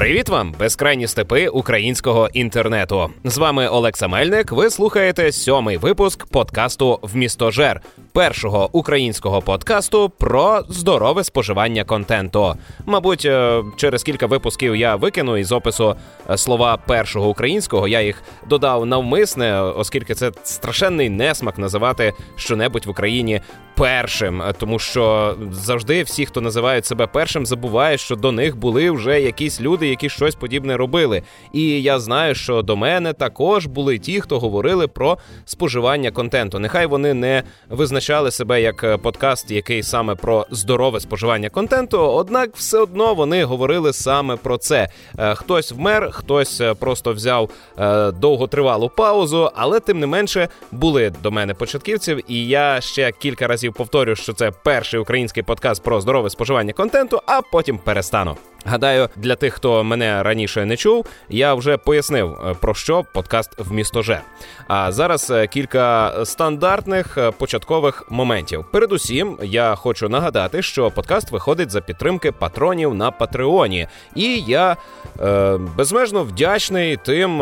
Привіт вам, безкрайні степи українського інтернету. З вами Олекса Мельник, ви слухаєте 7-й випуск подкасту «Вмістожер», першого українського подкасту про здорове споживання контенту. Мабуть, через кілька випусків я викину із опису слова першого українського, я їх додав навмисне, оскільки це страшенний несмак називати щонебудь в Україні першим, тому що завжди всі, хто називають себе першим, забувають, що до них були вже якісь люди, які щось подібне робили. І я знаю, що до мене також були ті, хто говорили про споживання контенту. Нехай вони не визначали себе як подкаст, який саме про здорове споживання контенту, однак все одно вони говорили саме про це. Хтось вмер, хтось просто взяв довготривалу паузу, але тим не менше були до мене початківців, і я ще кілька разів повторю, що це перший український подкаст про здорове споживання контенту, а потім перестану. Гадаю, для тих, хто мене раніше не чув, я вже пояснив, про що подкаст «Вмістожер». А зараз кілька стандартних початкових моментів. Передусім, я хочу нагадати, що подкаст виходить за підтримки патронів на Патреоні. І я безмежно вдячний тим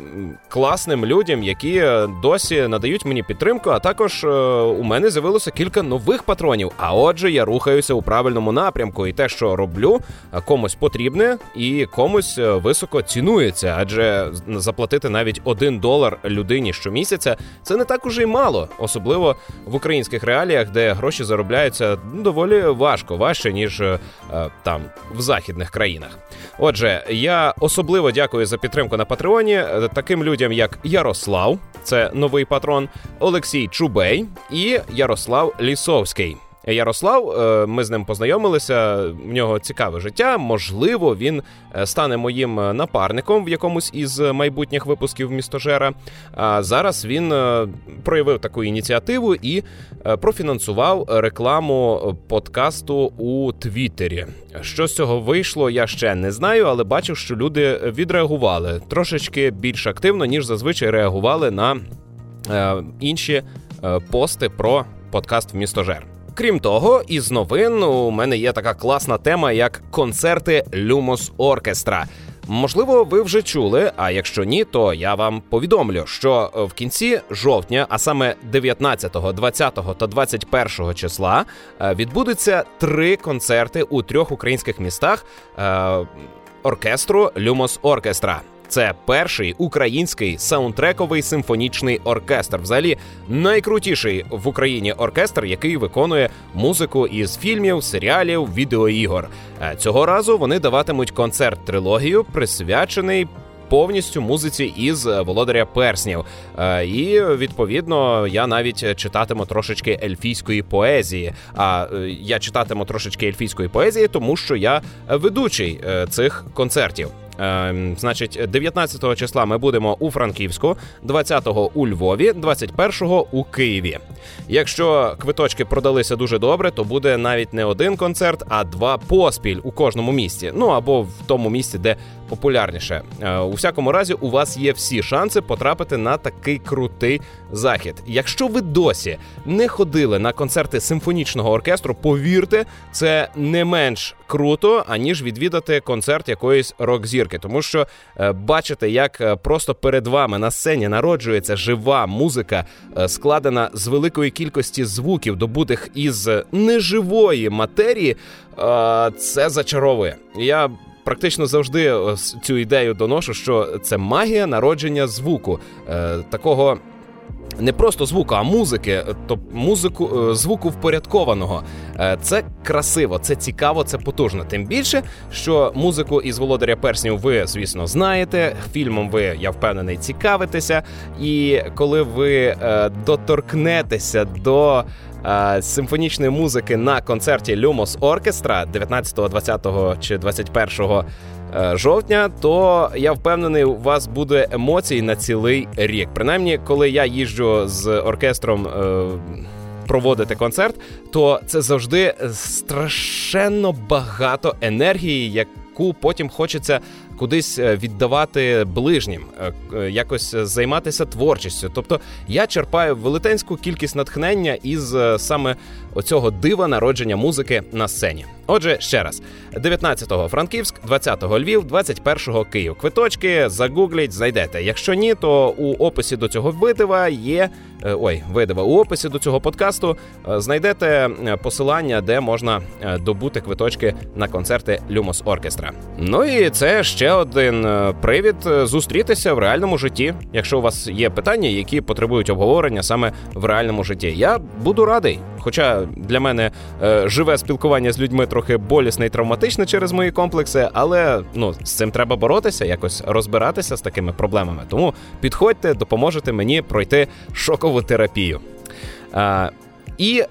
класним людям, які досі надають мені підтримку, а також у мене з'явилося кілька нових патронів. А отже, я рухаюся у правильному напрямку, і те, що роблю, комусь потрібне і комусь високо цінується, адже заплатити навіть $1 людині щомісяця – це не так уже й мало, особливо в українських реаліях, де гроші заробляються доволі важче, ніж там, в західних країнах. Отже, я особливо дякую за підтримку на Патреоні таким людям, як Ярослав, це новий патрон, Олексій Чубей і Ярослав Лісовський. Ярослав, ми з ним познайомилися, в нього цікаве життя, можливо, він стане моїм напарником в якомусь із майбутніх випусків «Вмістожера». А зараз він проявив таку ініціативу і профінансував рекламу подкасту у Твіттері. Що з цього вийшло, я ще не знаю, але бачив, що люди відреагували трошечки більш активно, ніж зазвичай реагували на інші пости про подкаст «Вмістожер». Крім того, із новин у мене є така класна тема, як концерти Lumos Orchestra. Можливо, ви вже чули, а якщо ні, то я вам повідомлю, що в кінці жовтня, а саме 19, 20 та 21 числа, відбудуться 3 концерти у 3 українських містах оркестру Lumos Orchestra. Це перший український саундтрековий симфонічний оркестр. Взагалі, найкрутіший в Україні оркестр, який виконує музику із фільмів, серіалів, відеоігор. Цього разу вони даватимуть концерт-трилогію, присвячений повністю музиці із «Володаря перснів». І, відповідно, я навіть читатиму трошечки ельфійської поезії. А я читатиму трошечки ельфійської поезії, тому що я ведучий цих концертів. Значить, 19 числа ми будемо у Франківську, 20-го у Львові, 21-го у Києві. Якщо квиточки продалися дуже добре, то буде навіть не один концерт, а 2 поспіль у кожному місті. Ну, або в тому місці, де популярніше. У всякому разі, у вас є всі шанси потрапити на такий крутий захід. Якщо ви досі не ходили на концерти симфонічного оркестру, повірте, це не менш круто, аніж відвідати концерт якоїсь рок-зірки. Тому що бачите, як просто перед вами на сцені народжується жива музика, складена з великої кількості звуків, добутих із неживої матерії, це зачаровує. Я практично завжди цю ідею доношу, що це магія народження звуку. Такого не просто звуку, а музики, тобто звуку впорядкованого. Це красиво, це цікаво, це потужно. Тим більше, що музику із «Володаря перснів» ви, звісно, знаєте, фільмом ви, я впевнений, цікавитеся. І коли ви доторкнетеся до симфонічної музики на концерті Lumos Orchestra 19, 20 чи 21 жовтня, то я впевнений, у вас буде емоцій на цілий рік. Принаймні, коли я їжджу з оркестром проводити концерт, то це завжди страшенно багато енергії, яку потім хочеться кудись віддавати ближнім, якось займатися творчістю. Тобто я черпаю велетенську кількість натхнення із саме оцього дива народження музики на сцені. Отже, ще раз. 19-го Франківськ, 20-го Львів, 21-го Київ. Квиточки загугліть, знайдете. Якщо ні, то у описі до цього у описі до цього подкасту знайдете посилання, де можна добути квиточки на концерти Lumos Orchestra. Ну і це ще один привід зустрітися в реальному житті. Якщо у вас є питання, які потребують обговорення саме в реальному житті, я буду радий. Хоча для мене живе спілкування з людьми трохи болісне і травматичне через мої комплекси, але з цим треба боротися, якось розбиратися з такими проблемами. Тому підходьте, допоможете мені пройти шокову терапію. І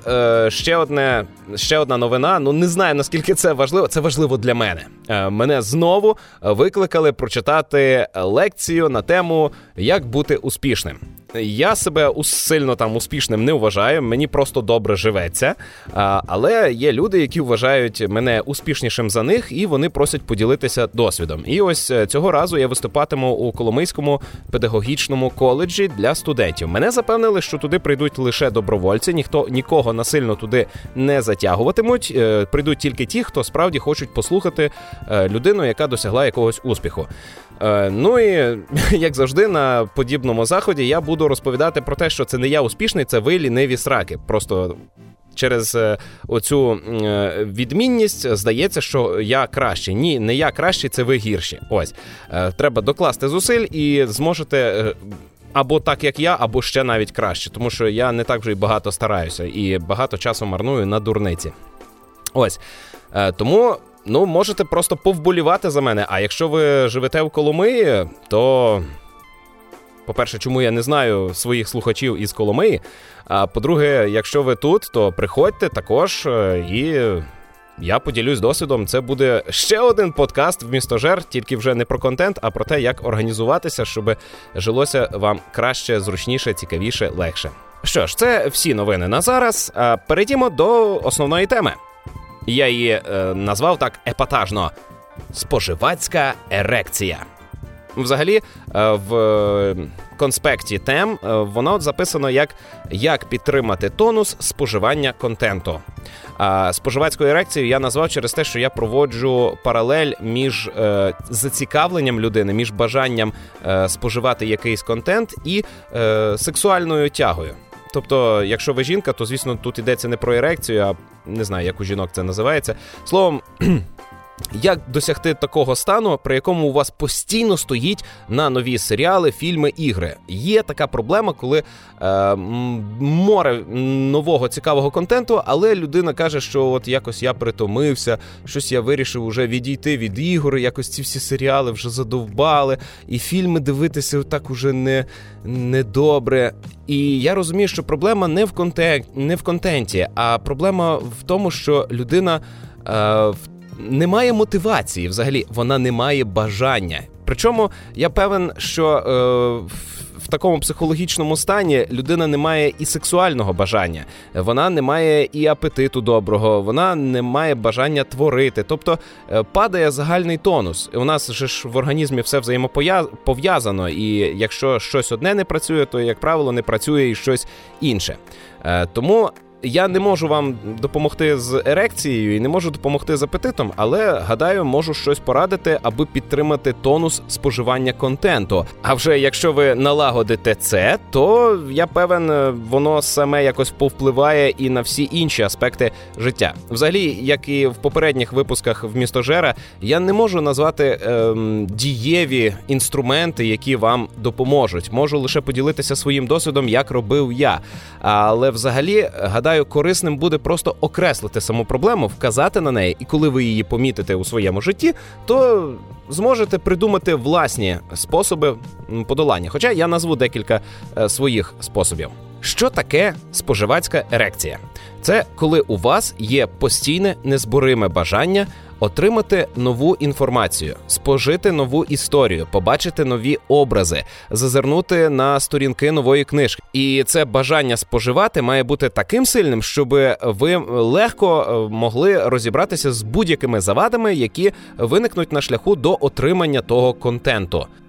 ще одна новина, не знаю, наскільки це важливо. Це важливо для мене. Мене знову викликали прочитати лекцію на тему «Як бути успішним». Я себе сильно успішним не вважаю, мені просто добре живеться, але є люди, які вважають мене успішнішим за них, і вони просять поділитися досвідом. І ось цього разу я виступатиму у Коломийському педагогічному коледжі для студентів. Мене запевнили, що туди прийдуть лише добровольці, нікого насильно туди не затягуватимуть, прийдуть тільки ті, хто справді хочуть послухати людину, яка досягла якогось успіху. Ну і, як завжди, на подібному заході я буду розповідати про те, що це не я успішний, це ви ліниві сраки. Просто через оцю відмінність здається, що я кращий. Ні, не я кращий, це ви гірші. Ось. Треба докласти зусиль і зможете або так, як я, або ще навіть краще. Тому що я не так вже й багато стараюся і багато часу марную на дурниці. Ось. Тому... можете просто повболівати за мене. А якщо ви живете в Коломиї, то, по-перше, чому я не знаю своїх слухачів із Коломиї, а по-друге, якщо ви тут, то приходьте також, і я поділюсь досвідом. Це буде ще один подкаст в Місто Жер, тільки вже не про контент, а про те, як організуватися, щоб жилося вам краще, зручніше, цікавіше, легше. Що ж, це всі новини на зараз. Перейдімо до основної теми. Я її назвав так епатажно – споживацька ерекція. Взагалі, в конспекті тем воно записано як підтримати тонус споживання контенту. Споживацьку ерекцію я назвав через те, що я проводжу паралель між зацікавленням людини, між бажанням споживати якийсь контент і сексуальною тягою. Тобто, якщо ви жінка, то, звісно, тут йдеться не про ерекцію, а не знаю, як у жінок це називається. Словом, як досягти такого стану, при якому у вас постійно стоїть на нові серіали, фільми, ігри. Є така проблема, коли море нового цікавого контенту, але людина каже, що от якось я притомився, щось я вирішив уже відійти від ігор, якось ці всі серіали вже задовбали, і фільми дивитися так уже не добре. І я розумію, що проблема не в контенті, а проблема в тому, що людина немає мотивації взагалі, вона не має бажання. Причому я певен, що в такому психологічному стані людина не має і сексуального бажання, вона не має і апетиту доброго, вона не має бажання творити. Тобто падає загальний тонус. У нас же ж в організмі все взаємопов'язано, і якщо щось одне не працює, то, як правило, не працює і щось інше. Тому я не можу вам допомогти з ерекцією і не можу допомогти з апетитом, але, гадаю, можу щось порадити, аби підтримати тонус споживання контенту. А вже якщо ви налагодите це, то, я певен, воно саме якось повпливає і на всі інші аспекти життя. Взагалі, як і в попередніх випусках в Місто Жера, я не можу назвати дієві інструменти, які вам допоможуть. Можу лише поділитися своїм досвідом, як робив я. Але взагалі, гадаю, корисним буде просто окреслити саму проблему, вказати на неї, і коли ви її помітите у своєму житті, то зможете придумати власні способи подолання. Хоча я назву декілька своїх способів. Що таке споживацька ерекція? Це коли у вас є постійне незбориме бажання отримати нову інформацію, спожити нову історію, побачити нові образи, зазирнути на сторінки нової книжки. І це бажання споживати має бути таким сильним, щоб ви легко могли розібратися з будь-якими завадами, які виникнуть на шляху до отримання того контенту.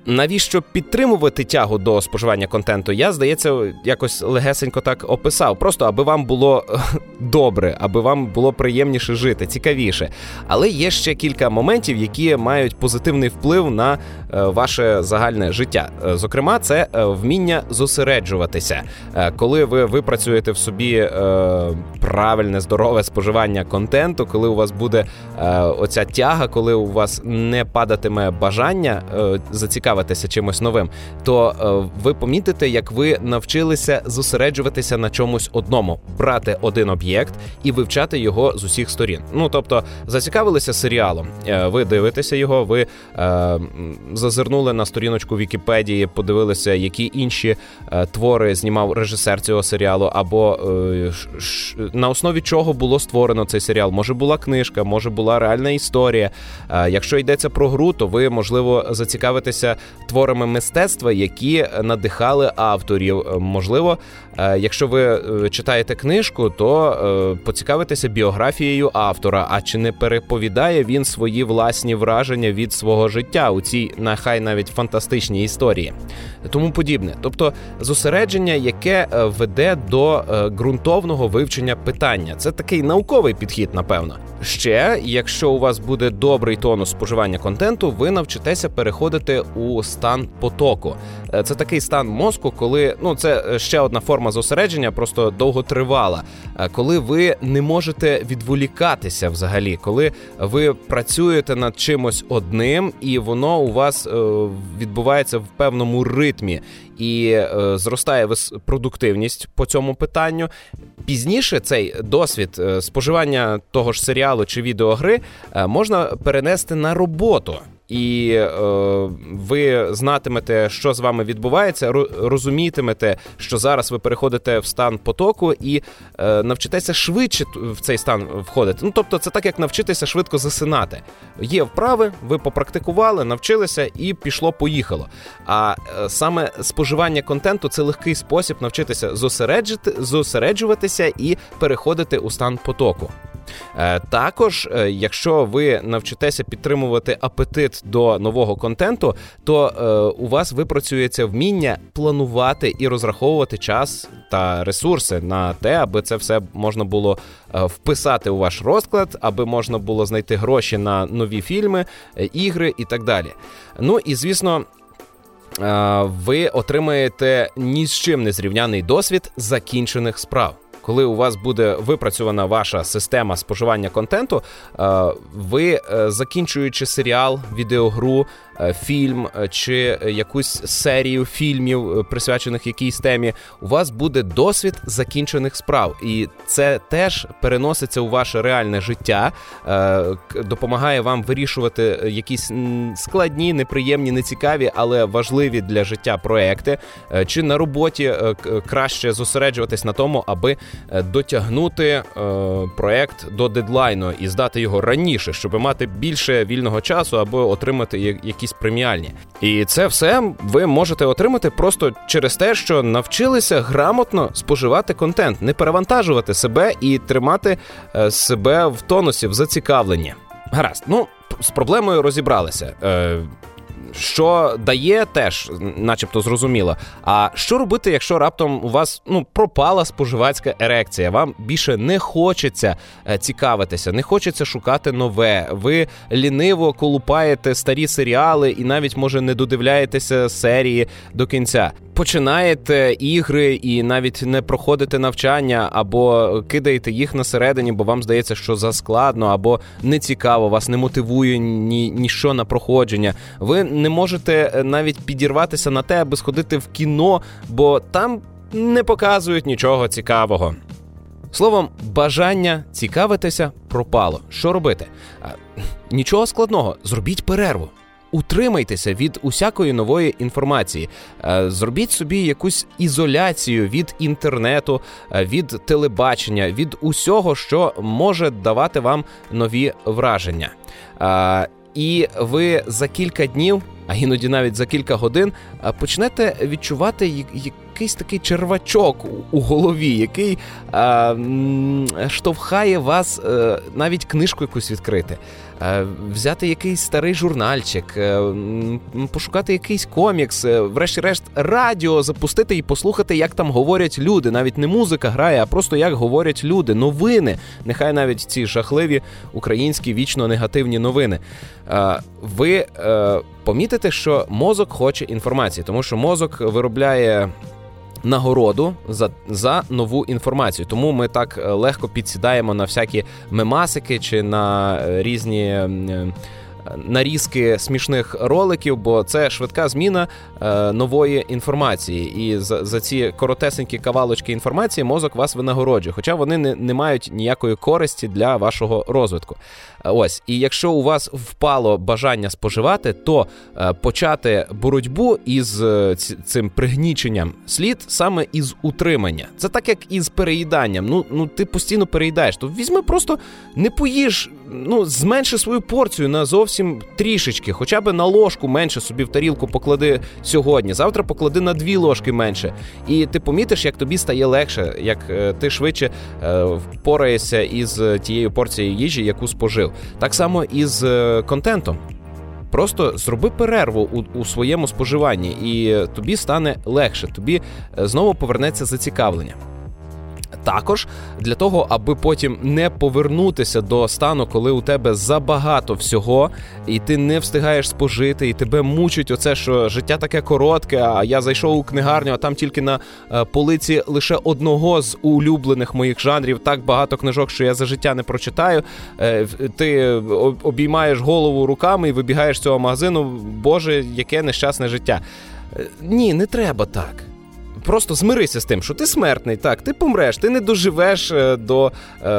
Навіщо підтримувати тягу до споживання контенту, я, здається, якось легесенько так описав. Просто аби вам було добре, аби вам було приємніше жити, цікавіше. Але є ще кілька моментів, які мають позитивний вплив на ваше загальне життя. Зокрема, це вміння зосереджуватися. Коли ви випрацюєте в собі правильне, здорове споживання контенту, коли у вас буде оця тяга, коли у вас не падатиме бажання зацікавитися чимось новим, то ви помітите, як ви навчилися зосереджуватися на чомусь одному, брати один об'єкт і вивчати його з усіх сторін. Тобто, зацікавилися серіалом, ви дивитеся його, ви зазирнули на сторіночку Вікіпедії, подивилися, які інші твори знімав режисер цього серіалу, або на основі чого було створено цей серіал. Може була книжка, може була реальна історія. Якщо йдеться про гру, то ви, можливо, зацікавитеся творами мистецтва, які надихали авторів. Можливо, якщо ви читаєте книжку, то поцікавитеся біографією автора, а чи не переповідає він свої власні враження від свого життя у цій, нехай навіть фантастичній історії. Тому подібне. Тобто, зосередження, яке веде до ґрунтовного вивчення питання. Це такий науковий підхід, напевно. Ще, якщо у вас буде добрий тонус споживання контенту, ви навчитеся переходити у стан потоку. Це такий стан мозку, коли, це ще одна форма зосередження, просто довготривала, коли ви не можете відволікатися взагалі, коли ви працюєте над чимось одним, і воно у вас відбувається в певному ритмі, і зростає продуктивність по цьому питанню. Пізніше цей досвід споживання того ж серіалу чи відеогри можна перенести на роботу. І ви знатимете, що з вами відбувається, розумітимете, що зараз ви переходите в стан потоку і навчитеся швидше в цей стан входити. Тобто це так, як навчитися швидко засинати. Є вправи, ви попрактикували, навчилися і пішло-поїхало. А саме споживання контенту – це легкий спосіб навчитися зосереджуватися і переходити у стан потоку. Також, якщо ви навчитеся підтримувати апетит до нового контенту, то у вас випрацюється вміння планувати і розраховувати час та ресурси на те, аби це все можна було вписати у ваш розклад, аби можна було знайти гроші на нові фільми, ігри і так далі. І, звісно, ви отримаєте ні з чим не зрівняний досвід закінчених справ. Коли у вас буде випрацьована ваша система споживання контенту, ви, закінчуючи серіал, відеогру, фільм чи якусь серію фільмів, присвячених якійсь темі, у вас буде досвід закінчених справ. І це теж переноситься у ваше реальне життя, допомагає вам вирішувати якісь складні, неприємні, нецікаві, але важливі для життя проекти, чи на роботі краще зосереджуватись на тому, аби дотягнути проект до дедлайну і здати його раніше, щоб мати більше вільного часу або отримати якісь преміальні. І це все ви можете отримати просто через те, що навчилися грамотно споживати контент, не перевантажувати себе і тримати себе в тонусі, в зацікавленні. Гаразд, з проблемою розібралися. Що дає, теж начебто зрозуміло. А що робити, якщо раптом у вас пропала споживацька ерекція? Вам більше не хочеться цікавитися, не хочеться шукати нове. Ви ліниво колупаєте старі серіали і навіть, може, не додивляєтеся серії до кінця. Починаєте ігри і навіть не проходите навчання, або кидаєте їх на середині, бо вам здається, що заскладно, або не цікаво, вас не мотивує ніщо на проходження. Ви не можете навіть підірватися на те, аби сходити в кіно, бо там не показують нічого цікавого. Словом, бажання цікавитися пропало. Що робити? Нічого складного, зробіть перерву. Утримайтеся від усякої нової інформації. Зробіть собі якусь ізоляцію від інтернету, від телебачення, від усього, що може давати вам нові враження. І ви за кілька днів, а іноді навіть за кілька годин, почнете відчувати якийсь такий червачок у голові, який штовхає вас навіть книжку якусь відкрити, взяти якийсь старий журнальчик, пошукати якийсь комікс, врешті-решт радіо запустити і послухати, як там говорять люди. Навіть не музика грає, а просто як говорять люди. Новини. Нехай навіть ці жахливі українські вічно негативні новини. Ви помітите, що мозок хоче інформації, тому що мозок виробляє нагороду за нову інформацію. Тому ми так легко підсідаємо на всякі мемасики чи на різні нарізки смішних роликів, бо це швидка зміна нової інформації. І за ці коротесенькі кавалочки інформації мозок вас винагороджує, хоча вони не мають ніякої користі для вашого розвитку. Ось. І якщо у вас впало бажання споживати, то почати боротьбу із цим пригніченням слід саме із утримання. Це так, як із переїданням. Ну ти постійно переїдаєш. То візьми просто, не поїж, зменши свою порцію на зовсім трішечки. Хоча б на ложку менше собі в тарілку поклади сьогодні. Завтра поклади на 2 ложки менше. І ти помітиш, як тобі стає легше, як ти швидше впораєшся із тією порцією їжі, яку спожив. Так само і з контентом. Просто зроби перерву у своєму споживанні, і тобі стане легше, тобі знову повернеться зацікавлення. Також для того, аби потім не повернутися до стану, коли у тебе забагато всього, і ти не встигаєш спожити, і тебе мучить оце, що життя таке коротке, а я зайшов у книгарню, а там тільки на полиці лише одного з улюблених моїх жанрів, так багато книжок, що я за життя не прочитаю. Ти обіймаєш голову руками і вибігаєш з цього магазину, боже, яке нещасне життя. Ні, не треба так. Просто змирися з тим, що ти смертний, так, ти помреш, ти не доживеш до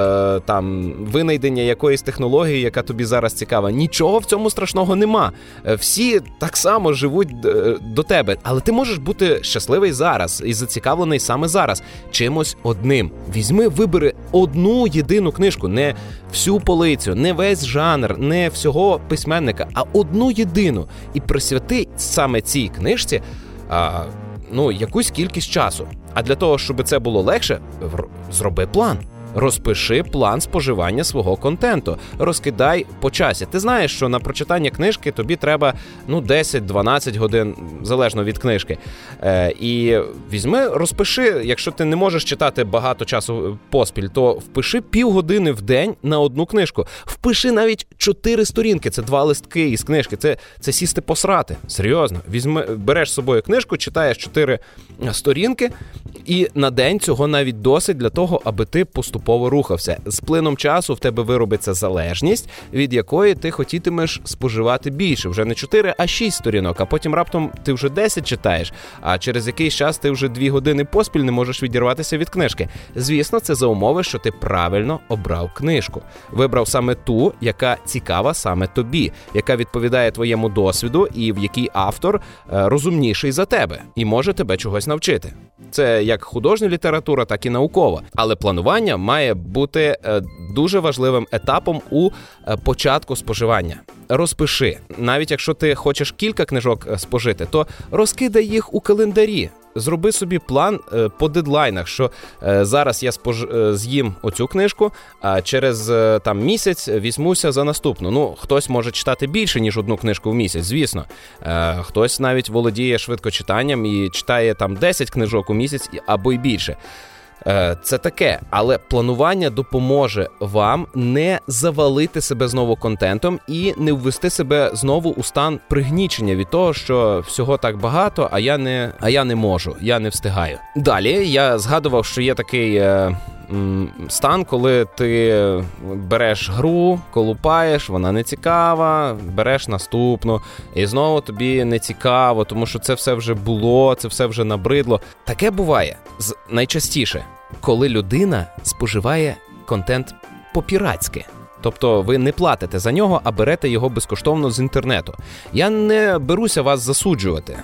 винайдення якоїсь технології, яка тобі зараз цікава. Нічого в цьому страшного нема. Всі так само живуть до тебе, але ти можеш бути щасливий зараз і зацікавлений саме зараз чимось одним. Вибери одну єдину книжку, не всю полицю, не весь жанр, не всього письменника, а одну єдину. І присвяти саме цій книжці якусь кількість часу. А для того, щоб це було легше, зроби план. Розпиши план споживання свого контенту. Розкидай по часі. Ти знаєш, що на прочитання книжки тобі треба 10-12 годин, залежно від книжки. І розпиши, якщо ти не можеш читати багато часу поспіль, то впиши півгодини в день на одну книжку. Впиши навіть 4 сторінки, це 2 листки із книжки, це сісти посрати. Серйозно. Береш з собою книжку, читаєш 4 сторінки, і на день цього навіть досить для того, аби ти поступово рухався. З плином часу в тебе виробиться залежність, від якої ти хотітимеш споживати більше. Вже не 4, а 6 сторінок, а потім раптом ти вже 10 читаєш, а через якийсь час ти вже 2 години поспіль не можеш відірватися від книжки. Звісно, це за умови, що ти правильно обрав книжку. Вибрав саме ту, яка цікава саме тобі, яка відповідає твоєму досвіду і в якій автор розумніший за тебе і може тебе чогось навчити. Це як художня література, так і наукова. Але планування має бути дуже важливим етапом у початку споживання. Розпиши. Навіть якщо ти хочеш кілька книжок спожити, то розкидай їх у календарі. Зроби собі план по дедлайнах, що зараз я з'їм оцю книжку, а через місяць візьмуся за наступну. Хтось може читати більше, ніж одну книжку в місяць, звісно. Хтось навіть володіє швидкочитанням і читає 10 книжок у місяць або й більше. Це таке, але планування допоможе вам не завалити себе знову контентом і не ввести себе знову у стан пригнічення від того, що всього так багато, а я не можу, я не встигаю. Далі я згадував, що є такий стан, коли ти береш гру, колупаєш, вона не цікава, береш наступну, і знову тобі не цікаво, тому що це все вже було, це все вже набридло. Таке буває найчастіше, коли людина споживає контент по-піратськи. Тобто ви не платите за нього, а берете його безкоштовно з інтернету. Я не беруся вас засуджувати.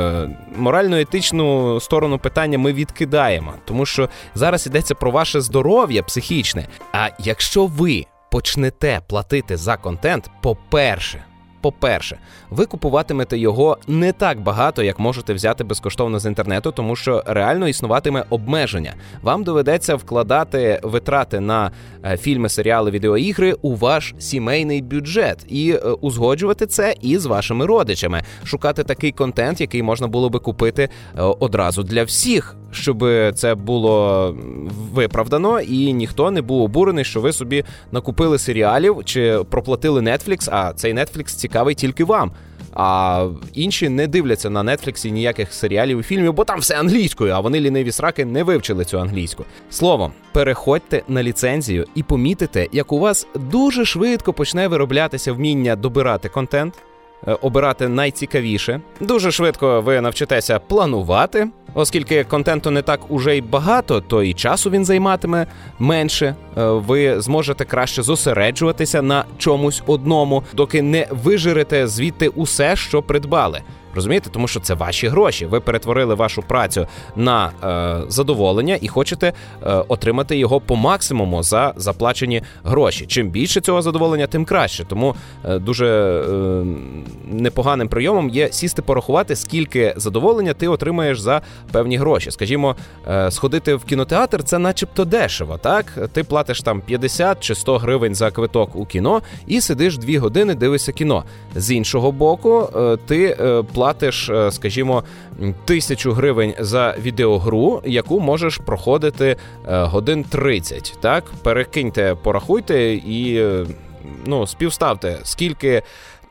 Морально-етичну сторону питання ми відкидаємо, тому що зараз йдеться про ваше здоров'я психічне. А якщо ви почнете платити за контент, по-перше, по-перше, ви купуватимете його не так багато, як можете взяти безкоштовно з інтернету, тому що реально існуватиме обмеження. Вам доведеться вкладати витрати на фільми, серіали, відеоігри у ваш сімейний бюджет і узгоджувати це із вашими родичами. Шукати такий контент, який можна було би купити одразу для всіх, щоб це було виправдано і ніхто не був обурений, що ви собі накупили серіалів чи проплатили Netflix, а цей Netflix цікавий тільки вам. А інші не дивляться на Netflix ніяких серіалів і фільмів, бо там все англійською, а вони, ліниві сраки, не вивчили цю англійську. Словом, переходьте на ліцензію і помітите, як у вас дуже швидко почне вироблятися вміння добирати контент, обирати найцікавіше. Дуже швидко ви навчитеся планувати, оскільки контенту не так уже й багато, то і часу він займатиме менше. Ви зможете краще зосереджуватися на чомусь одному, доки не вижирете звідти усе, що придбали. Розумієте? Тому що це ваші гроші. Ви перетворили вашу працю на задоволення і хочете отримати його по максимуму за заплачені гроші. Чим більше цього задоволення, тим краще. Тому дуже непоганим прийомом є сісти порахувати, скільки задоволення ти отримаєш за певні гроші. Скажімо, сходити в кінотеатр – це начебто дешево, так? Ти платиш там 50 чи 100 гривень за квиток у кіно і сидиш 2 години, дивишся кіно. З іншого боку, ти платиш, скажімо, 1000 гривень за відеогру, яку можеш проходити годин 30, так? Перекиньте, порахуйте і, співставте, скільки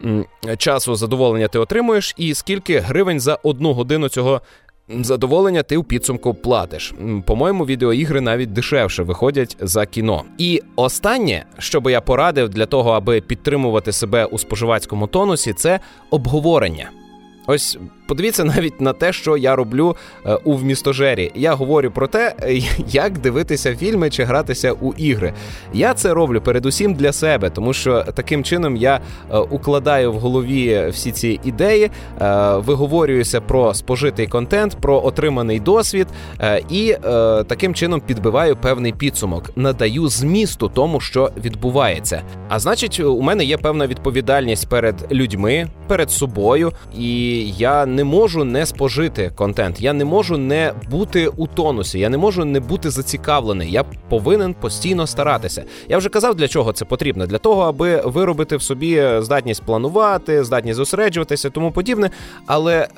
часу задоволення ти отримуєш і скільки гривень за 1 годину цього задоволення ти в підсумку платиш. По-моєму, відеоігри навіть дешевше виходять за кіно. І останнє, що би я порадив для того, аби підтримувати себе у споживацькому тонусі, це обговорення. Ось подивіться навіть на те, що я роблю у «Вмістожері». Я говорю про те, як дивитися фільми чи гратися у ігри. Я це роблю передусім для себе, тому що таким чином я укладаю в голові всі ці ідеї, виговорююся про спожитий контент, про отриманий досвід і таким чином підбиваю певний підсумок, надаю змісту тому, що відбувається. А значить, у мене є певна відповідальність перед людьми, перед собою, і я не можу не спожити контент, я не можу не бути у тонусі, я не можу не бути зацікавлений, я повинен постійно старатися. Я вже казав, для чого це потрібно. Для того, аби виробити в собі здатність планувати, здатність зосереджуватися і тому подібне, але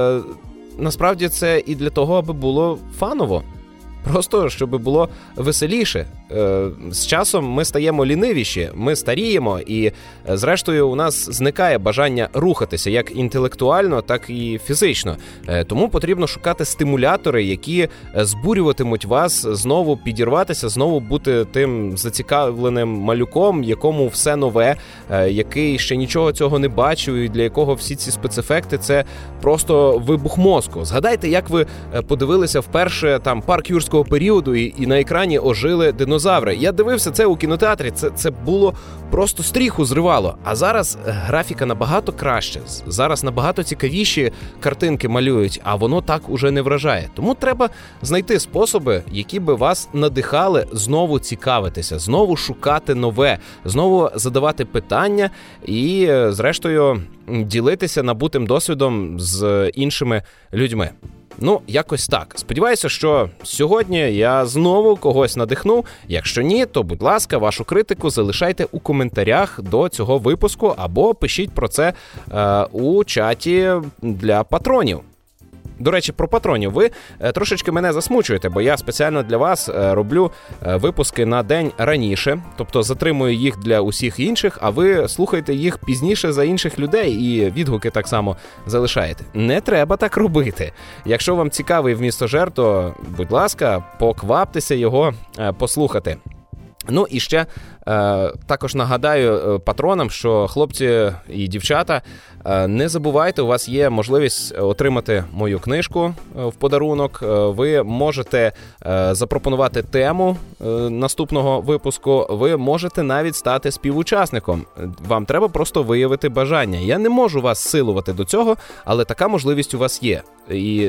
насправді це і для того, аби було фаново. Просто, щоб було веселіше. З часом ми стаємо лінивіші, ми старіємо, і зрештою у нас зникає бажання рухатися як інтелектуально, так і фізично. Тому потрібно шукати стимулятори, які збурюватимуть вас знову підірватися, знову бути тим зацікавленим малюком, якому все нове, який ще нічого цього не бачив, і для якого всі ці спецефекти – це просто вибух мозку. Згадайте, як ви подивилися вперше там парк юрського періоду і на екрані ожили динозаври. Я дивився це у кінотеатрі, це було просто стріху зривало. А зараз графіка набагато краще, зараз набагато цікавіші картинки малюють, а воно так уже не вражає. Тому треба знайти способи, які би вас надихали знову цікавитися, знову шукати нове, знову задавати питання і, зрештою, ділитися набутим досвідом з іншими людьми. Якось так. Сподіваюся, що сьогодні я знову когось надихну. Якщо ні, то, будь ласка, вашу критику залишайте у коментарях до цього випуску або пишіть про це у чаті для патронів. До речі, про патронів. Ви трошечки мене засмучуєте, бо я спеціально для вас роблю випуски на день раніше, тобто затримую їх для усіх інших, а ви слухаєте їх пізніше за інших людей і відгуки так само залишаєте. Не треба так робити. Якщо вам цікавий «Вмістожер», то, будь ласка, покваптеся його послухати. І ще також нагадаю патронам, що хлопці і дівчата, не забувайте, у вас є можливість отримати мою книжку в подарунок. Ви можете запропонувати тему наступного випуску, ви можете навіть стати співучасником. Вам треба просто виявити бажання. Я не можу вас силувати до цього, але така можливість у вас є. І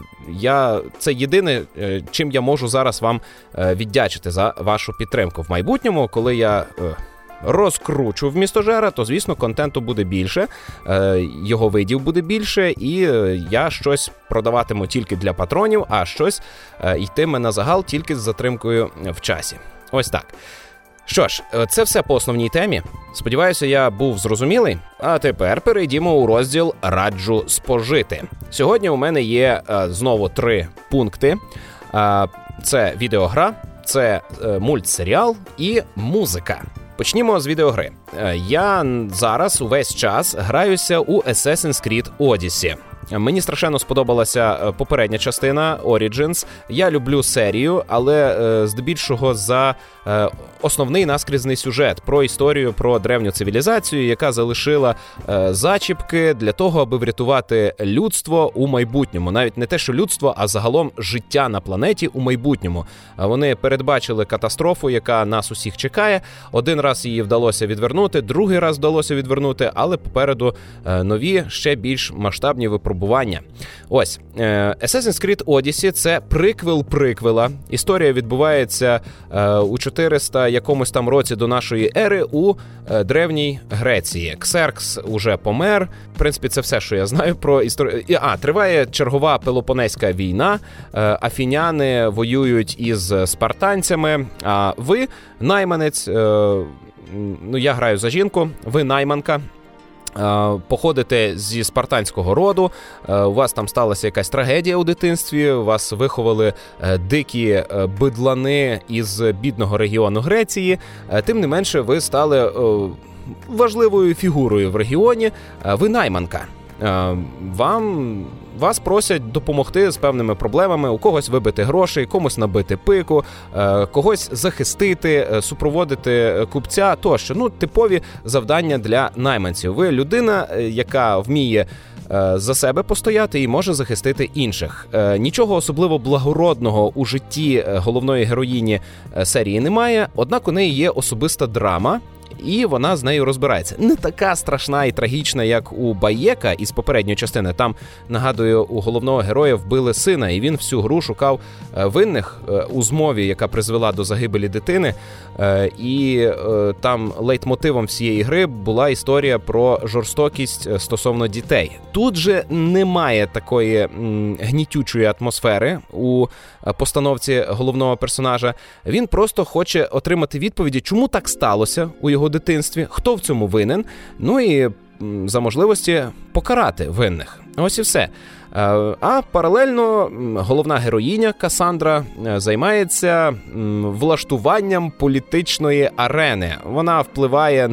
це єдине, чим я можу зараз вам віддячити за вашу підтримку. В майбутньому, коли я розкручу вмістожера, то, звісно, контенту буде більше, його видів буде більше, і я щось продаватиму тільки для патронів, а щось йтиме на загал тільки з затримкою в часі. Ось так. Що ж, це все по основній темі. Сподіваюся, я був зрозумілий. А тепер перейдімо у розділ «Раджу спожити». Сьогодні у мене є знову 3 пункти. Це відеогра, це мультсеріал і музика. Почнімо з відеогри. Я зараз увесь час граюся у Assassin's Creed Odyssey. Мені страшенно сподобалася попередня частина Origins. Я люблю серію, але здебільшого за основний наскрізний сюжет про історію, про древню цивілізацію, яка залишила зачіпки для того, аби врятувати людство у майбутньому. Навіть не те, що людство, а загалом життя на планеті у майбутньому. Вони передбачили катастрофу, яка нас усіх чекає. Один раз її вдалося відвернути, другий раз вдалося відвернути, але попереду нові, ще більш масштабні випробування. Ось, Assassin's Creed Odyssey – це приквел приквела. Історія відбувається у 400 якомусь там році до нашої ери у древній Греції. Ксеркс уже помер. В принципі, це все, що я знаю про історію. Триває чергова Пелопонезька війна. Афіняни воюють із спартанцями. А ви, найманець, я граю за жінку, ви найманка. Походите зі спартанського роду, у вас там сталася якась трагедія у дитинстві, вас виховали дикі бидлани із бідного регіону Греції, тим не менше ви стали важливою фігурою в регіоні, ви найманка. Вас просять допомогти з певними проблемами, у когось вибити грошей, комусь набити пику, когось захистити, супроводити купця тощо. Типові завдання для найманців. Ви людина, яка вміє за себе постояти і може захистити інших. Нічого особливо благородного у житті головної героїні серії немає, однак у неї є особиста драма, і вона з нею розбирається. Не така страшна і трагічна, як у Баєка із попередньої частини. Там, нагадую, у головного героя вбили сина, і він всю гру шукав винних у змові, яка призвела до загибелі дитини. І там лейтмотивом всієї гри була історія про жорстокість стосовно дітей. Тут же немає такої гнітючої атмосфери у постановці головного персонажа. Він просто хоче отримати відповіді, чому так сталося у його дитинстві, хто в цьому винен, і за можливості покарати винних. Ось і все. А паралельно головна героїня Кассандра займається влаштуванням політичної арени. Вона впливає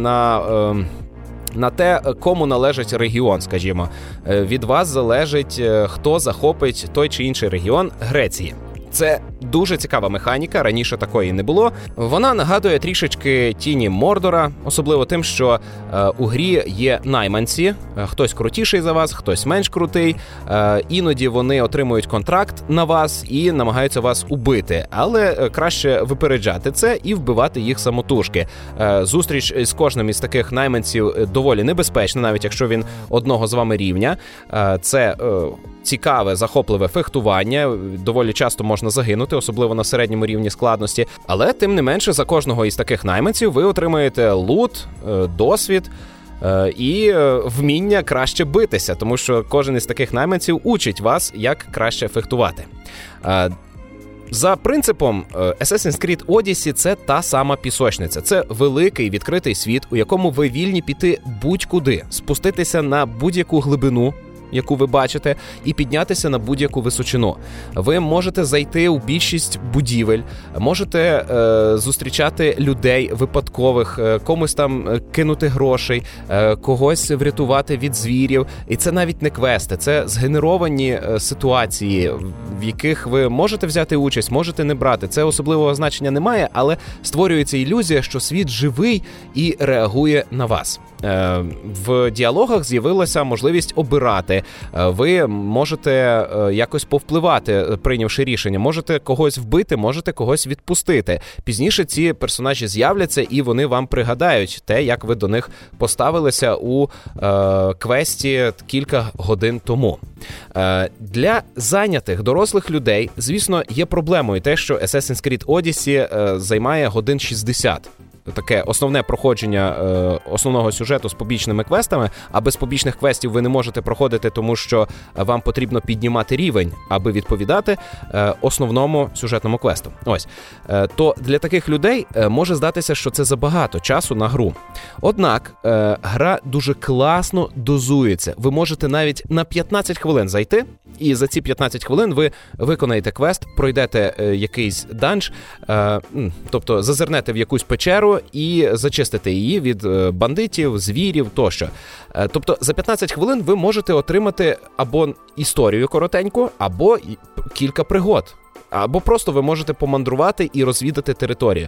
на те, кому належить регіон, скажімо. Від вас залежить, хто захопить той чи інший регіон Греції. Це дуже цікава механіка, раніше такої не було. Вона нагадує трішечки Тіні Мордора, особливо тим, що у грі є найманці, хтось крутіший за вас, хтось менш крутий, іноді вони отримують контракт на вас і намагаються вас убити, але краще випереджати це і вбивати їх самотужки. Зустріч з кожним із таких найманців доволі небезпечна, навіть якщо він одного з вами рівня. Це цікаве, захопливе фехтування, доволі часто можна загинути, особливо на середньому рівні складності, але тим не менше за кожного із таких найманців ви отримаєте лут, досвід і вміння краще битися, тому що кожен із таких найманців учить вас, як краще фехтувати. За принципом, Assassin's Creed Odyssey – це та сама пісочниця. Це великий відкритий світ, у якому ви вільні піти будь-куди, спуститися на будь-яку глибину, яку ви бачите, і піднятися на будь-яку височину. Ви можете зайти у більшість будівель, можете зустрічати людей випадкових, комусь там кинути грошей, когось врятувати від звірів. І це навіть не квести, це згенеровані ситуації, в яких ви можете взяти участь, можете не брати. Це особливого значення немає, але створюється ілюзія, що світ живий і реагує на вас. В діалогах з'явилася можливість обирати. Ви можете якось повпливати, прийнявши рішення. Можете когось вбити, можете когось відпустити. Пізніше ці персонажі з'являться і вони вам пригадають те, як ви до них поставилися у квесті кілька годин тому. Для зайнятих дорослих людей, звісно, є проблемою те, що Assassin's Creed Odyssey займає годин 60. таке основне проходження основного сюжету з побічними квестами, а без побічних квестів ви не можете проходити, тому що вам потрібно піднімати рівень, аби відповідати основному сюжетному квесту. Ось. То для таких людей може здатися, що це забагато часу на гру. Однак, гра дуже класно дозується. Ви можете навіть на 15 хвилин зайти, і за ці 15 хвилин ви виконаєте квест, пройдете якийсь данж, тобто зазирнете в якусь печеру і зачистите її від бандитів, звірів тощо. Тобто за 15 хвилин ви можете отримати або історію коротеньку, або кілька пригод. Або просто ви можете помандрувати і розвідати територію.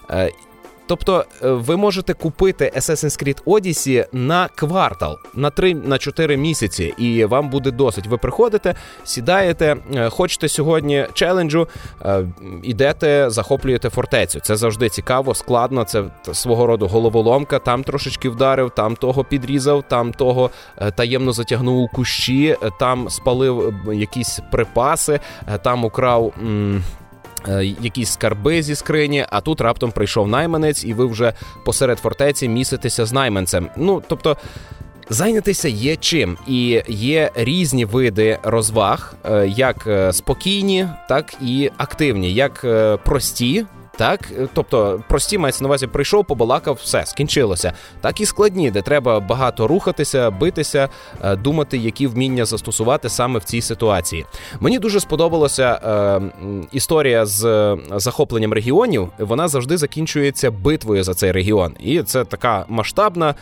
Тобто ви можете купити Assassin's Creed Odyssey на квартал, на 3-4 місяці, і вам буде досить. Ви приходите, сідаєте, хочете сьогодні челенджу, ідете, захоплюєте фортецю. Це завжди цікаво, складно, це свого роду головоломка, там трошечки вдарив, там того підрізав, там того таємно затягнув у кущі, там спалив якісь припаси, там украв якісь скарби зі скрині, а тут раптом прийшов найманець, і ви вже посеред фортеці міситеся з найманцем. Тобто, зайнятися є чим. І є різні види розваг, як спокійні, так і активні, як прості, так, тобто прості, мається на увазі, прийшов, побалакав, все, скінчилося. Так і складні, де треба багато рухатися, битися, думати, які вміння застосувати саме в цій ситуації. Мені дуже сподобалася історія з захопленням регіонів. Вона завжди закінчується битвою за цей регіон. І це така масштабна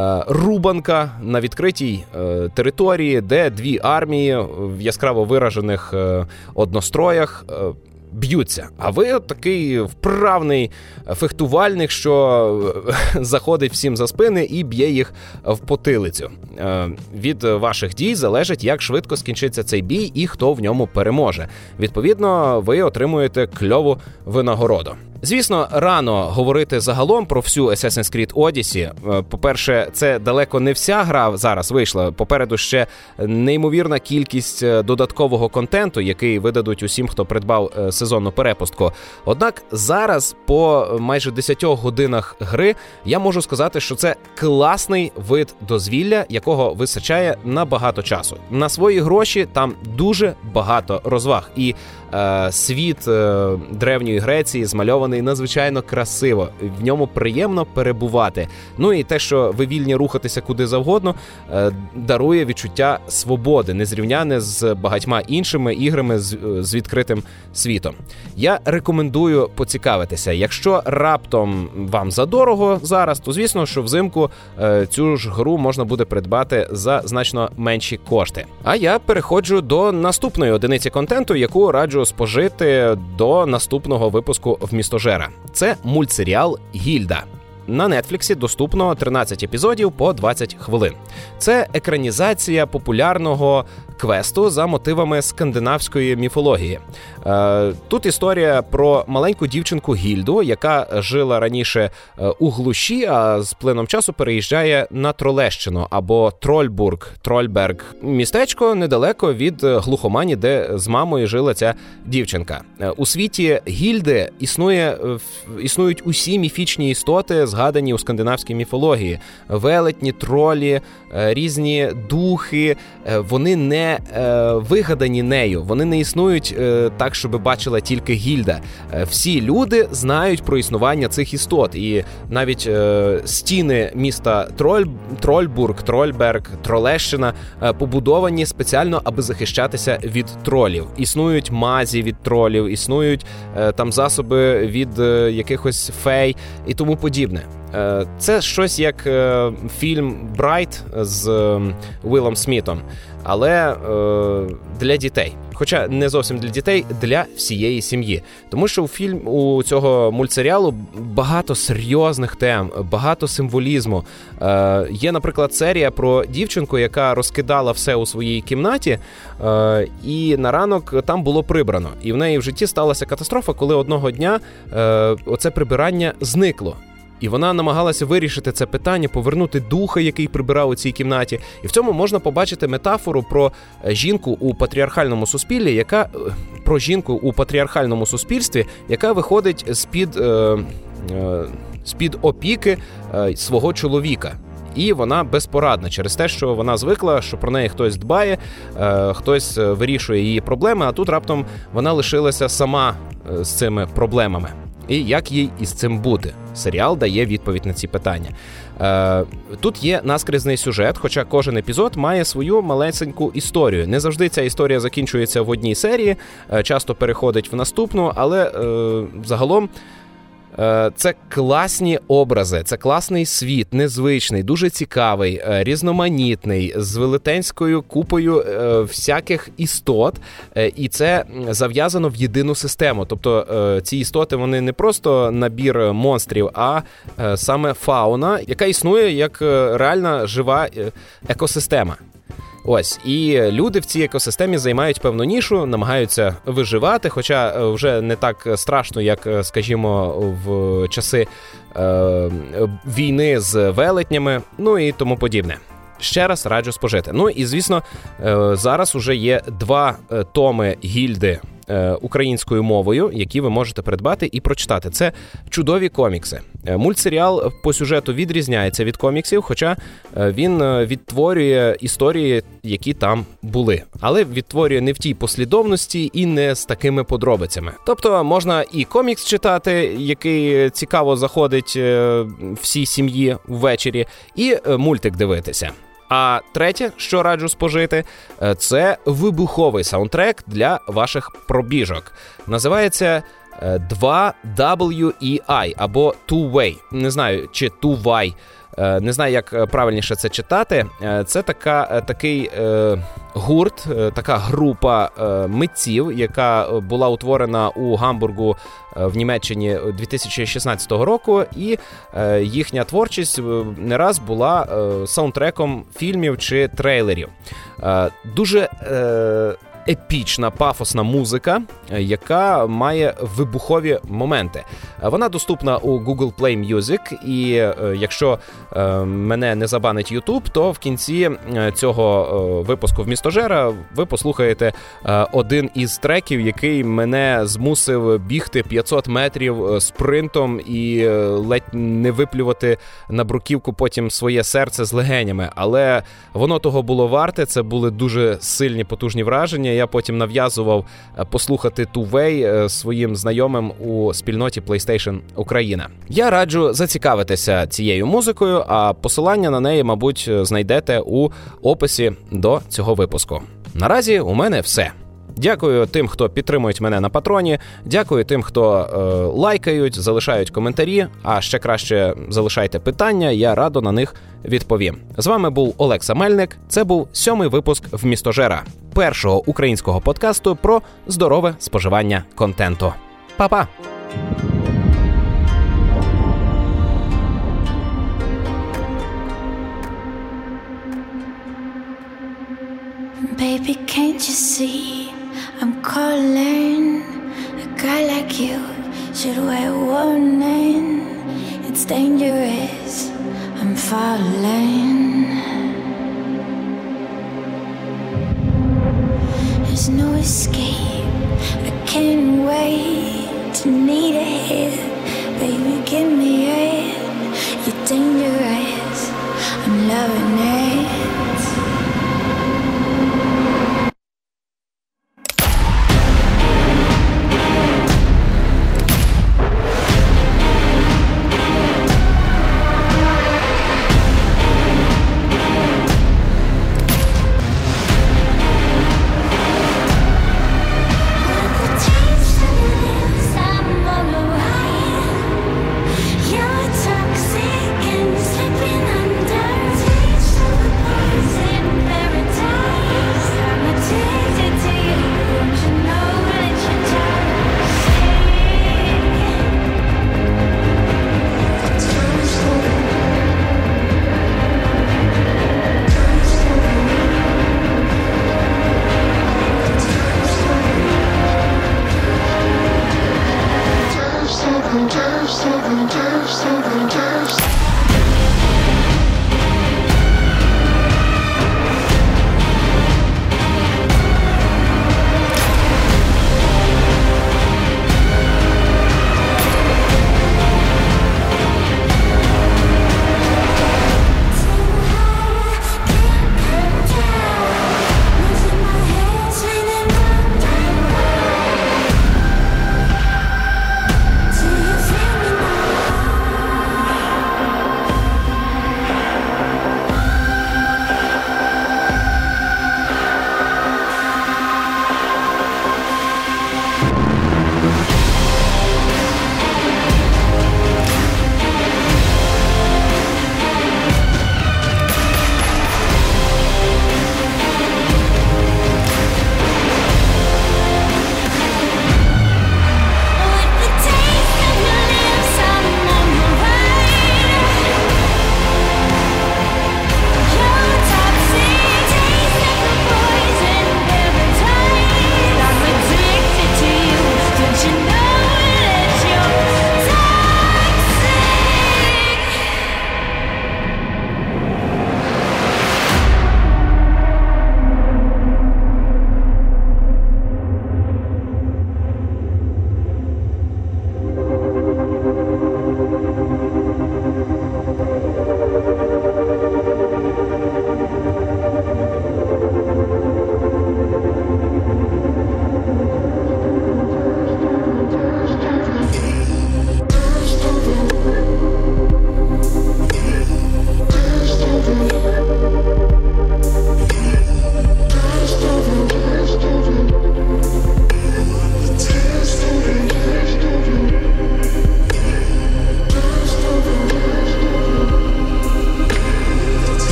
рубанка на відкритій території, де дві армії в яскраво виражених одностроях б'ються. А ви такий вправний фехтувальник, що заходить всім за спини і б'є їх в потилицю. Від ваших дій залежить, як швидко скінчиться цей бій і хто в ньому переможе. Відповідно, ви отримуєте кльову винагороду. Звісно, рано говорити загалом про всю Assassin's Creed Odyssey. По-перше, це далеко не вся гра зараз вийшла. Попереду ще неймовірна кількість додаткового контенту, який видадуть усім, хто придбав сезонну перепустку. Однак зараз, по майже 10 годинах гри, я можу сказати, що це класний вид дозвілля, якого вистачає на багато часу. На свої гроші там дуже багато розваг. І світ Древньої Греції змальований надзвичайно красиво. В ньому приємно перебувати. Ну і те, що ви вільні рухатися куди завгодно, дарує відчуття свободи, незрівняне з багатьма іншими іграми з відкритим світом. Я рекомендую поцікавитися. Якщо раптом вам задорого зараз, то звісно, що взимку цю ж гру можна буде придбати за значно менші кошти. А я переходжу до наступної одиниці контенту, яку раджу спожити до наступного випуску «Вмістожера». Це мультсеріал «Гільда». На Нетфліксі доступно 13 епізодів по 20 хвилин. Це екранізація популярного квесту за мотивами скандинавської міфології. Тут історія про маленьку дівчинку Гільду, яка жила раніше у глуші, а з плином часу переїжджає на Тролещину або Трольберг. Містечко недалеко від глухомані, де з мамою жила ця дівчинка. У світі Гільди існують усі міфічні істоти, згадані у скандинавській міфології. Велетні, тролі, різні духи. Вони не вигадані нею, вони не існують так, щоб бачила тільки Гільда. Всі люди знають про існування цих істот, і навіть стіни міста Трольберг, Тролещина побудовані спеціально, аби захищатися від тролів. Існують мазі від тролів, існують там засоби від якихось фей і тому подібне. Це щось як фільм «Брайт» з Уілом Смітом, але для дітей. Хоча не зовсім для дітей, для всієї сім'ї. Тому що у цього мультсеріалу багато серйозних тем, багато символізму. Є, наприклад, серія про дівчинку, яка розкидала все у своїй кімнаті, і на ранок там було прибрано. І в неї в житті сталася катастрофа, коли одного дня оце прибирання зникло. І вона намагалася вирішити це питання, повернути духа, який прибирав у цій кімнаті. І в цьому можна побачити метафору про жінку у патріархальному суспільстві, яка виходить з-під опіки свого чоловіка. І вона безпорадна через те, що вона звикла, що про неї хтось дбає, хтось вирішує її проблеми, а тут раптом вона лишилася сама з цими проблемами. І як їй із цим бути? Серіал дає відповідь на ці питання. Тут є наскрізний сюжет, хоча кожен епізод має свою малесеньку історію. Не завжди ця історія закінчується в одній серії, часто переходить в наступну, але загалом це класні образи, це класний світ, незвичний, дуже цікавий, різноманітний, з велетенською купою всяких істот, і це зав'язано в єдину систему. Тобто ці істоти, вони не просто набір монстрів, а саме фауна, яка існує як реальна жива екосистема. Ось, і люди в цій екосистемі займають певну нішу, намагаються виживати, хоча вже не так страшно, як, скажімо, в часи війни з велетнями, ну і тому подібне. Ще раз раджу спожити. Ну і, звісно, зараз уже є 2 томи Гільди українською мовою, які ви можете придбати і прочитати. Це чудові комікси. Мультсеріал по сюжету відрізняється від коміксів, хоча він відтворює історії, які там були. Але відтворює не в тій послідовності і не з такими подробицями. Тобто можна і комікс читати, який цікаво заходить всій сім'ї ввечері, і мультик дивитися. А третє, що раджу спожити, це вибуховий саундтрек для ваших пробіжок. Називається 2WEI або Two Way. Не знаю, чи Two Way. Не знаю, як правильніше це читати. Це такий гурт, така група митців, яка була утворена у Гамбургу в Німеччині 2016 року, і їхня творчість не раз була саундтреком фільмів чи трейлерів. Дуже епічна, пафосна музика, яка має вибухові моменти. Вона доступна у Google Play Music, і якщо мене не забанить YouTube, то в кінці цього випуску «Вмістожера» ви послухаєте один із треків, який мене змусив бігти 500 метрів спринтом і ледь не виплювати на бруківку потім своє серце з легенями. Але воно того було варте, це були дуже сильні, потужні враження. Я потім нав'язував послухати Two Way своїм знайомим у спільноті PlayStation Україна. Я раджу зацікавитися цією музикою, а посилання на неї, мабуть, знайдете у описі до цього випуску. Наразі у мене все. Дякую тим, хто підтримують мене на Патроні, дякую тим, хто лайкають, залишають коментарі, а ще краще залишайте питання, я радо на них відповім. З вами був Олекса Мельник, це був 7-й випуск «Вмістожера», першого українського подкасту про здорове споживання контенту. Па-па! Baby, can't you see I'm calling? A guy like you should wear warning. It's dangerous, I'm falling. There's no escape, I can't wait to need a hit. Baby, give me it, you're dangerous, I'm loving it.